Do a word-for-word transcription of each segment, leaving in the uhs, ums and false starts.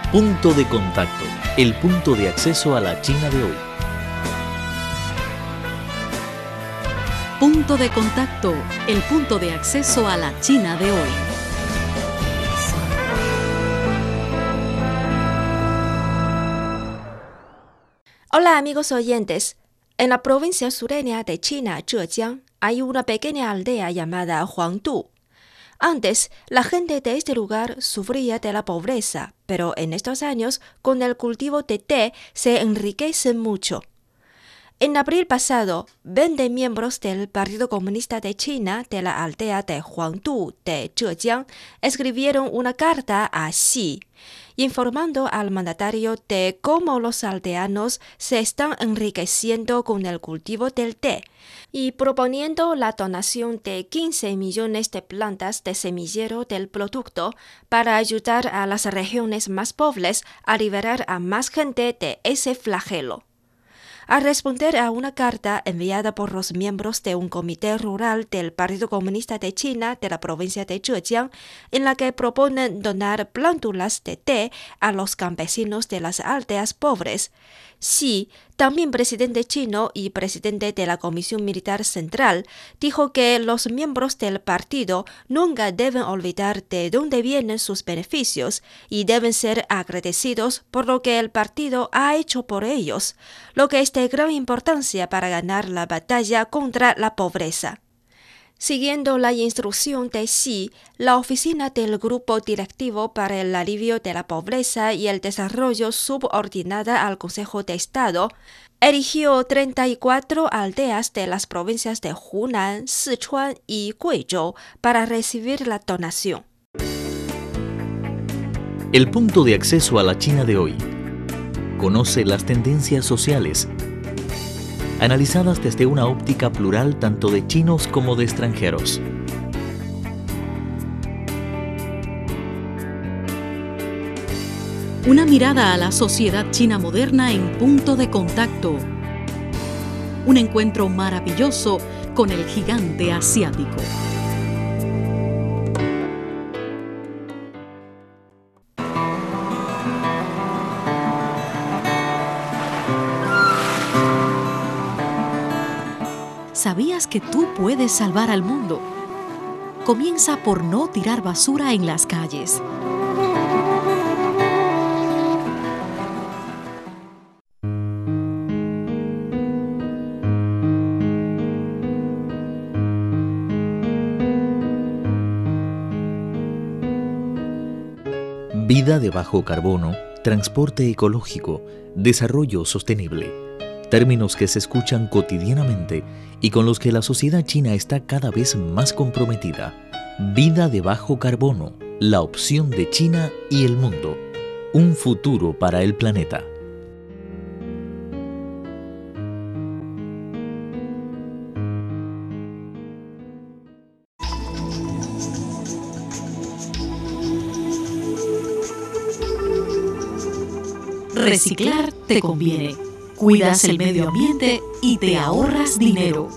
Punto de contacto, el punto de acceso a la China de hoy. Punto de contacto, el punto de acceso a la China de hoy. Hola amigos oyentes. En la provincia sureña de China, Zhejiang, hay una pequeña aldea llamada Huangdu. Antes, la gente de este lugar sufría de la pobreza, pero en estos años, con el cultivo de té, se enriquecen mucho. En abril pasado, veinte miembros del Partido Comunista de China de la aldea de Huangdu de Zhejiang escribieron una carta a Xi, informando al mandatario de cómo los aldeanos se están enriqueciendo con el cultivo del té y proponiendo la donación de quince millones de plantas de semillero del producto para ayudar a las regiones más pobres a liberar a más gente de ese flagelo. Al responder a una carta enviada por los miembros de un comité rural del Partido Comunista de China de la provincia de Zhejiang, en la que proponen donar plántulas de té a los campesinos de las aldeas pobres, Xi, también presidente chino y presidente de la Comisión Militar Central, dijo que los miembros del partido nunca deben olvidar de dónde vienen sus beneficios y deben ser agradecidos por lo que el partido ha hecho por ellos, lo que es de gran importancia para ganar la batalla contra la pobreza. Siguiendo la instrucción de Xi, la oficina del Grupo Directivo para el Alivio de la Pobreza y el Desarrollo subordinada al Consejo de Estado erigió treinta y cuatro aldeas de las provincias de Hunan, Sichuan y Guizhou para recibir la donación. El punto de acceso a la China de hoy. Conoce las tendencias sociales, analizadas desde una óptica plural tanto de chinos como de extranjeros. Una mirada a la sociedad china moderna en Punto de Contacto. Un encuentro maravilloso con el gigante asiático. ¿Sabías que tú puedes salvar al mundo? Comienza por no tirar basura en las calles. Vida de bajo carbono, transporte ecológico, desarrollo sostenible. Términos que se escuchan cotidianamente y con los que la sociedad china está cada vez más comprometida. Vida de bajo carbono, la opción de China y el mundo. Un futuro para el planeta. Reciclar te conviene. Cuidas el medio ambiente y te ahorras dinero.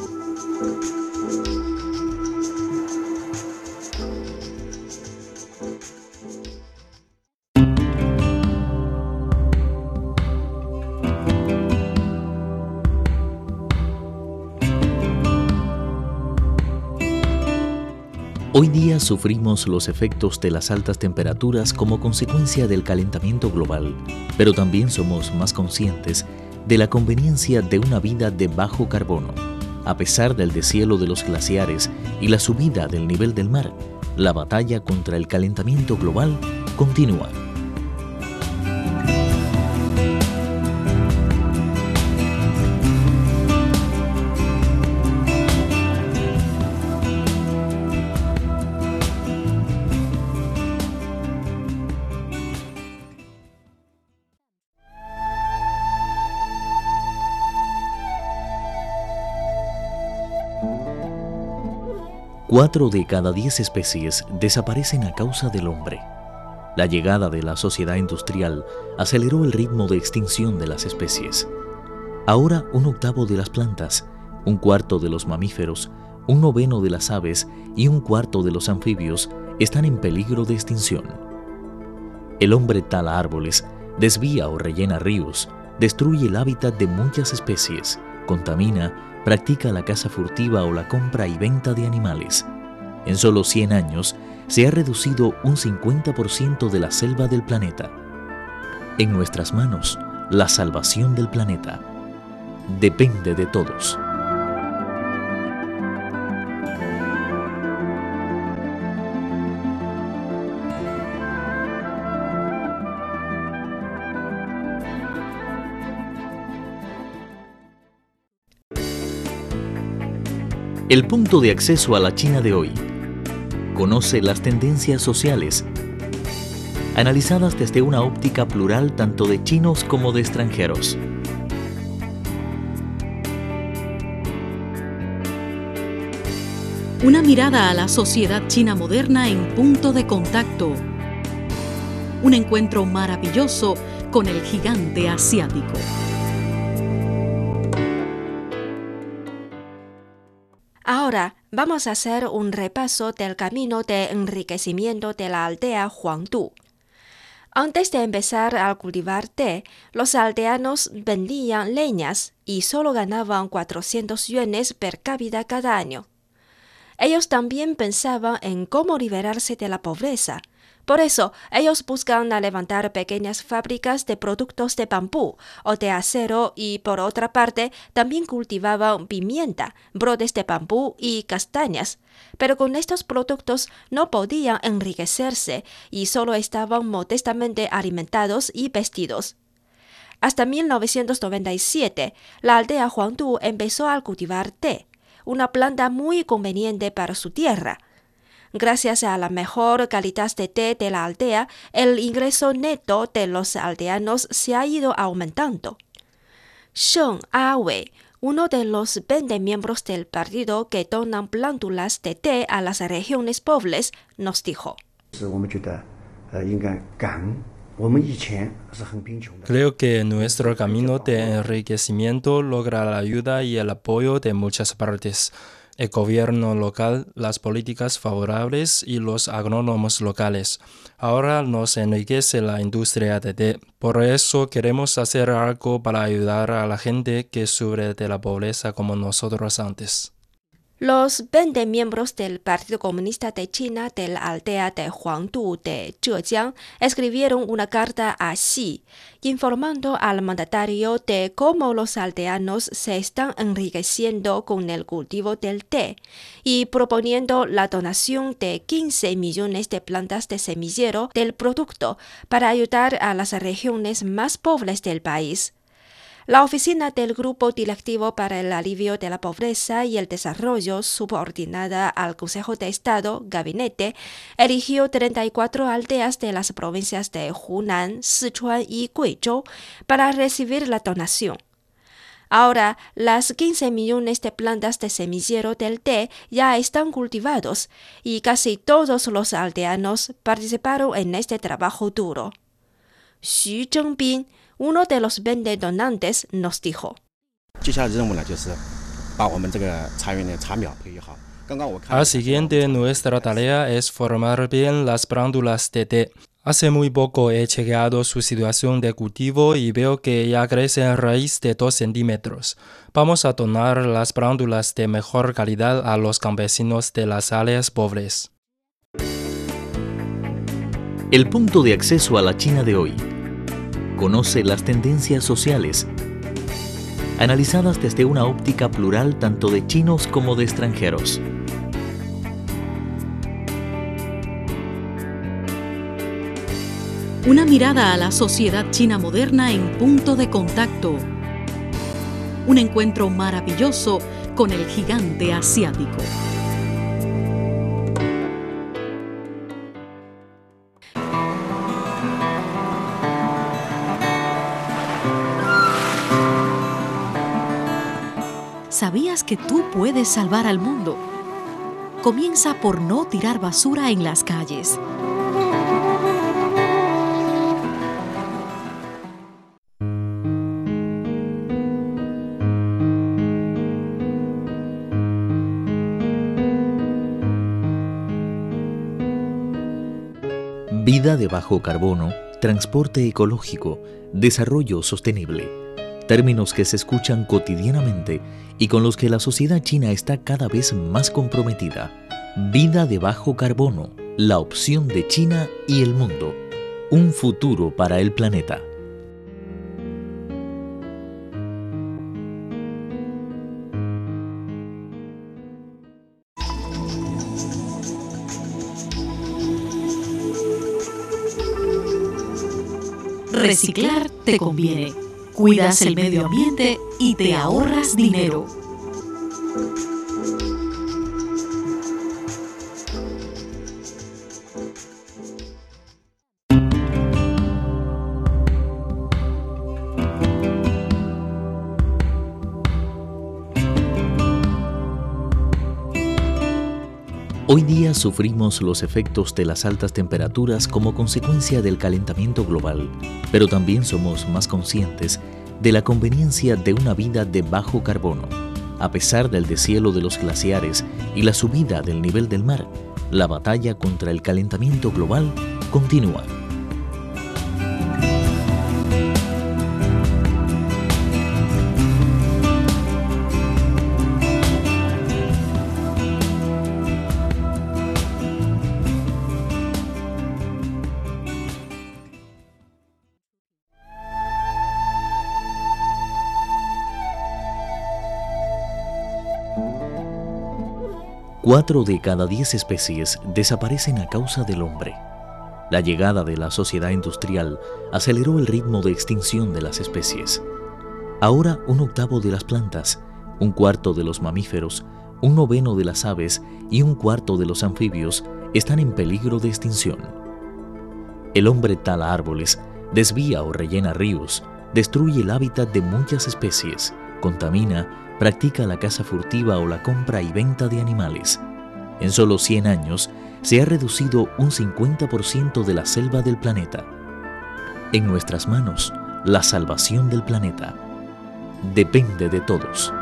Hoy día sufrimos los efectos de las altas temperaturas como consecuencia del calentamiento global, pero también somos más conscientes de la conveniencia de una vida de bajo carbono. A pesar del deshielo de los glaciares y la subida del nivel del mar, la batalla contra el calentamiento global continúa. Cuatro de cada diez especies desaparecen a causa del hombre. La llegada de la sociedad industrial aceleró el ritmo de extinción de las especies. Ahora un octavo de las plantas, un cuarto de los mamíferos, un noveno de las aves y un cuarto de los anfibios están en peligro de extinción. El hombre tala árboles, desvía o rellena ríos, destruye el hábitat de muchas especies, contamina, practica la caza furtiva o la compra y venta de animales. En solo cien años, se ha reducido un cincuenta por ciento de la selva del planeta. En nuestras manos, la salvación del planeta depende de todos. El punto de acceso a la China de hoy. Conoce las tendencias sociales, analizadas desde una óptica plural tanto de chinos como de extranjeros. Una mirada a la sociedad china moderna en Punto de Contacto. Un encuentro maravilloso con el gigante asiático. Ahora vamos a hacer un repaso del camino de enriquecimiento de la aldea Huangdu. Antes de empezar a cultivar té, los aldeanos vendían leñas y solo ganaban cuatrocientos yuanes per cápita cada año. Ellos también pensaban en cómo liberarse de la pobreza. Por eso, ellos buscan levantar pequeñas fábricas de productos de bambú o de acero y, por otra parte, también cultivaban pimienta, brotes de bambú y castañas. Pero con estos productos no podían enriquecerse y solo estaban modestamente alimentados y vestidos. Hasta mil novecientos noventa y siete, la aldea Huangdu empezó a cultivar té, una planta muy conveniente para su tierra. Gracias a la mejor calidad de té de la aldea, el ingreso neto de los aldeanos se ha ido aumentando. Sheng Awei, uno de los veinte miembros del partido que donan plántulas de té a las regiones pobres, nos dijo: Creo que nuestro camino de enriquecimiento logra la ayuda y el apoyo de muchas partes. El gobierno local, las políticas favorables y los agrónomos locales. Ahora nos enriquece la industria de té. Por eso queremos hacer algo para ayudar a la gente que sufre de la pobreza como nosotros antes. Los veinte miembros del Partido Comunista de China de la aldea de Huangdu de Zhejiang escribieron una carta a Xi, informando al mandatario de cómo los aldeanos se están enriqueciendo con el cultivo del té y proponiendo la donación de quince millones de plantas de semillero del producto para ayudar a las regiones más pobres del país. La oficina del Grupo Directivo para el Alivio de la Pobreza y el Desarrollo, subordinada al Consejo de Estado, Gabinete, eligió treinta y cuatro aldeas de las provincias de Hunan, Sichuan y Guizhou para recibir la donación. Ahora, las quince millones de plantas de semillero del té ya están cultivados y casi todos los aldeanos participaron en este trabajo duro. Xu Zhengbin, uno de los veinte donantes, nos dijo: Al siguiente, nuestra tarea es formar bien las plántulas de té. Hace muy poco he chequeado su situación de cultivo y veo que ya crece en raíz de dos centímetros. Vamos a donar las plántulas de mejor calidad a los campesinos de las áreas pobres. El punto de acceso a la China de hoy. Conoce las tendencias sociales, analizadas desde una óptica plural tanto de chinos como de extranjeros. Una mirada a la sociedad china moderna en Punto de Contacto. Un encuentro maravilloso con el gigante asiático. ¿Sabías que tú puedes salvar al mundo? Comienza por no tirar basura en las calles. Vida de bajo carbono transporte ecológico, desarrollo sostenible, términos que se escuchan cotidianamente y con los que la sociedad china está cada vez más comprometida. Vida de bajo carbono, la opción de China y el mundo, un futuro para el planeta. Reciclar te conviene. Cuidas el medio ambiente y te ahorras dinero. Hoy día sufrimos los efectos de las altas temperaturas como consecuencia del calentamiento global, pero también somos más conscientes de la conveniencia de una vida de bajo carbono. A pesar del deshielo de los glaciares y la subida del nivel del mar, la batalla contra el calentamiento global continúa. Cuatro de cada diez especies desaparecen a causa del hombre. La llegada de la sociedad industrial aceleró el ritmo de extinción de las especies. Ahora un octavo de las plantas, un cuarto de los mamíferos, un noveno de las aves y un cuarto de los anfibios están en peligro de extinción. El hombre tala árboles, desvía o rellena ríos, destruye el hábitat de muchas especies, contamina, practica la caza furtiva o la compra y venta de animales. En solo cien años se ha reducido un cincuenta por ciento de la selva del planeta. En nuestras manos, la salvación del planeta depende de todos.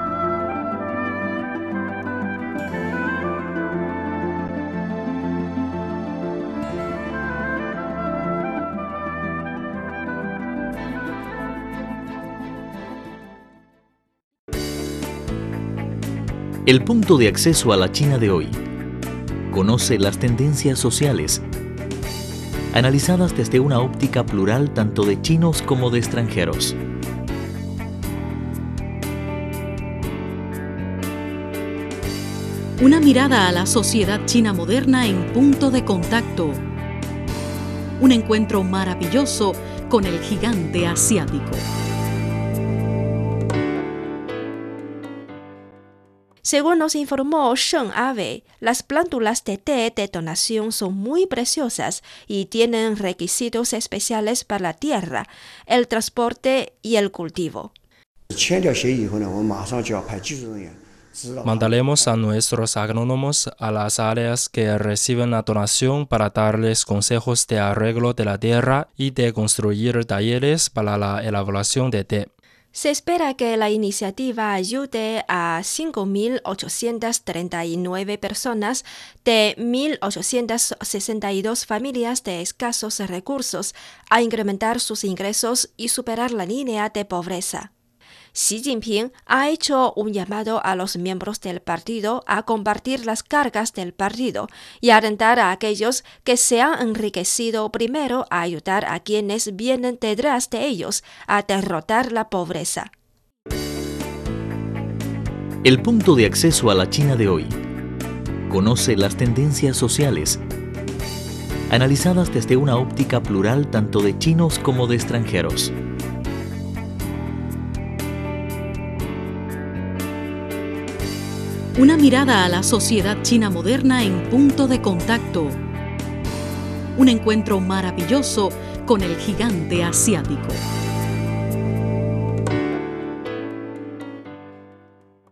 El punto de acceso a la China de hoy. Conoce las tendencias sociales, analizadas desde una óptica plural tanto de chinos como de extranjeros. Una mirada a la sociedad china moderna en Punto de Contacto. Un encuentro maravilloso con el gigante asiático. Según nos informó Sheng Awei, las plántulas de té de donación son muy preciosas y tienen requisitos especiales para la tierra, el transporte y el cultivo. Mandaremos a nuestros agrónomos a las áreas que reciben la donación para darles consejos de arreglo de la tierra y de construir talleres para la elaboración de té. Se espera que la iniciativa ayude a cinco mil ochocientas treinta y nueve personas de mil ochocientas sesenta y dos familias de escasos recursos a incrementar sus ingresos y superar la línea de pobreza. Xi Jinping ha hecho un llamado a los miembros del partido a compartir las cargas del partido y alentar a aquellos que se han enriquecido primero a ayudar a quienes vienen detrás de ellos a derrotar la pobreza. El punto de acceso a la China de hoy. Conoce las tendencias sociales, analizadas desde una óptica plural tanto de chinos como de extranjeros. Una mirada a la sociedad china moderna en Punto de Contacto. Un encuentro maravilloso con el gigante asiático.